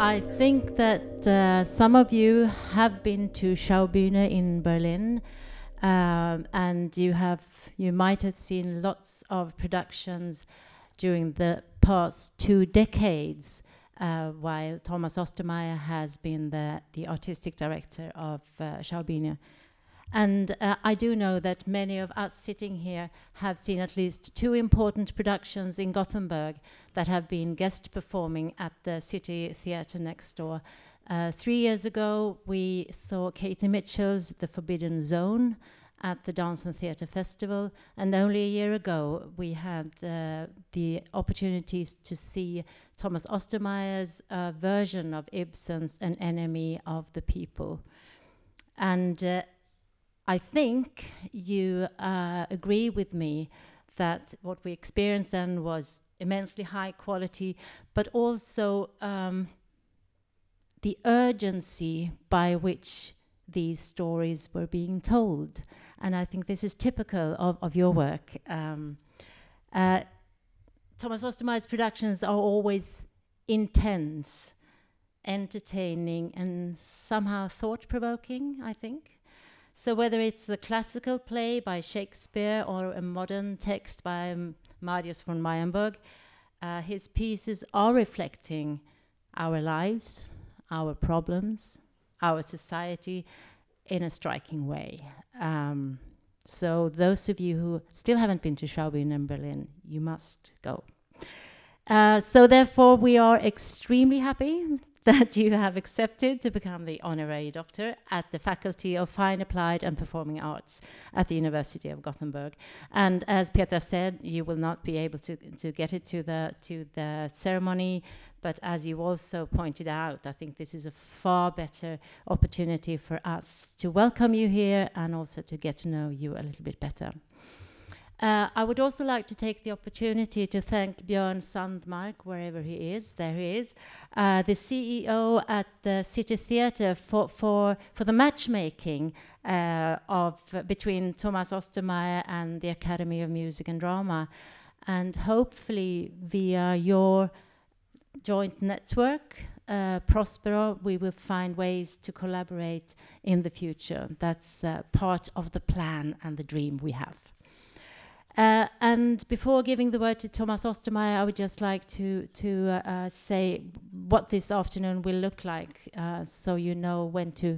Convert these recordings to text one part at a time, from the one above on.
I think that some of you have been to Schaubühne in Berlin, and you might have seen lots of productions during the past 2 decades, while Thomas Ostermeier has been the artistic director of Schaubühne. And I do know that many of us sitting here have seen at least 2 important productions in Gothenburg that have been guest performing at the City Theatre next door. 3 years ago, we saw Katie Mitchell's The Forbidden Zone at the Dance and Theatre Festival, and only a year ago we had the opportunities to see Thomas Ostermeier's version of Ibsen's An Enemy of the People. And I think you agree with me that what we experienced then was immensely high quality, but also the urgency by which these stories were being told. And I think this is typical of your work. Thomas Ostermeier's productions are always intense, entertaining, and somehow thought-provoking, I think. So whether it's the classical play by Shakespeare or a modern text by Marius von Meyerberg, his pieces are reflecting our lives, our problems, our society in a striking way. So those of you who still haven't been to Schaubühne in Berlin, you must go. So therefore, we are extremely happy that you have accepted to become the honorary doctor at the Faculty of Fine, Applied and Performing Arts at the University of Gothenburg. And as Petra said, you will not be able to get it to the ceremony, but as you also pointed out, I think this is a far better opportunity for us to welcome you here and also to get to know you a little bit better. I would also like to take the opportunity to thank Björn Sandmark, wherever he is, there he is, the CEO at the City Theatre for the matchmaking between Thomas Ostermeier and the Academy of Music and Drama. And hopefully via your joint network, Prospero, we will find ways to collaborate in the future. That's part of the plan and the dream we have. And before giving the word to Thomas Ostermeier, I would just like to say what this afternoon will look like, so you know when to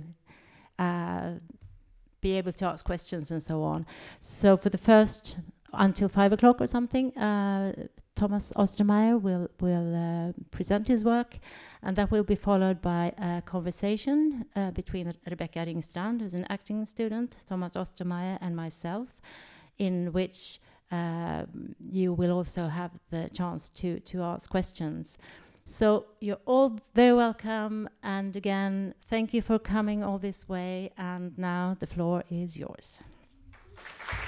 be able to ask questions and so on. So for the first, until 5 o'clock or something, Thomas Ostermeier will present his work, and that will be followed by a conversation between Rebecca Ringstrand, who's an acting student, Thomas Ostermeier, and myself, in which you will also have the chance to ask questions. So you're all very welcome, and again, thank you for coming all this way, and now the floor is yours.